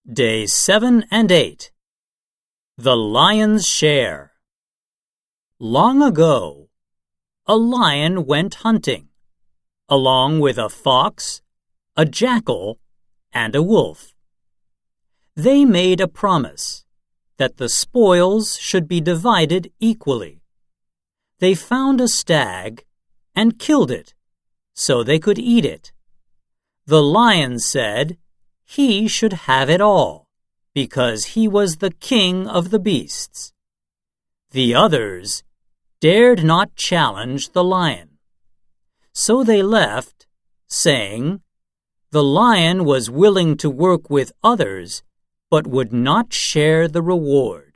Day 7 and 8. The Lion's Share. Long ago, a lion went hunting, along with a fox, a jackal, and a wolf. They made a promise that the spoils should be divided equally. They found a stag and killed it so they could eat it. The lion said he should have it all because he was the king of the beasts. The others dared not challenge the lion. So they left, saying, "The lion was willing to work with others, but would not share the reward."